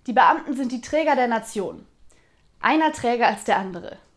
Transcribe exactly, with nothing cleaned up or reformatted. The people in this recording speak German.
Die Beamten sind die Träger der Nation. Einer träger als der andere.